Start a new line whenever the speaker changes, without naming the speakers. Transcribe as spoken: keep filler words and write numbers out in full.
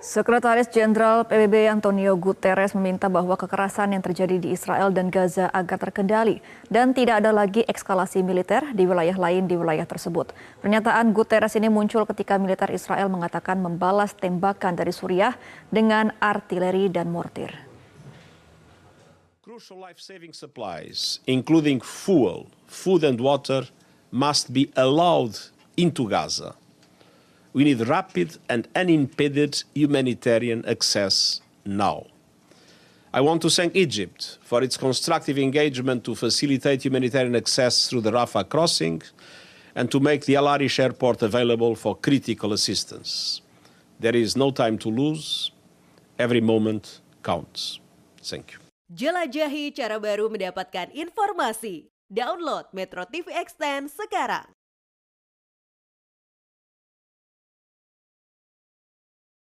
Sekretaris Jenderal P B B Antonio Guterres meminta bahwa kekerasan yang terjadi di Israel dan Gaza agar terkendali dan tidak ada lagi eskalasi militer di wilayah lain di wilayah tersebut. Pernyataan Guterres ini muncul ketika militer Israel mengatakan membalas tembakan dari Suriah dengan artileri dan mortir.
Crucial life-saving supplies, including fuel, food and water, must be allowed into Gaza. We need rapid and unimpeded humanitarian access now. I want to thank Egypt for its constructive engagement to facilitate humanitarian access through the Rafah crossing and to make the Al Arish airport available for critical assistance. There is no time to lose. Every moment counts. Thank you.
Jelajahi cara baru mendapatkan informasi. Download Metro T V Extend sekarang.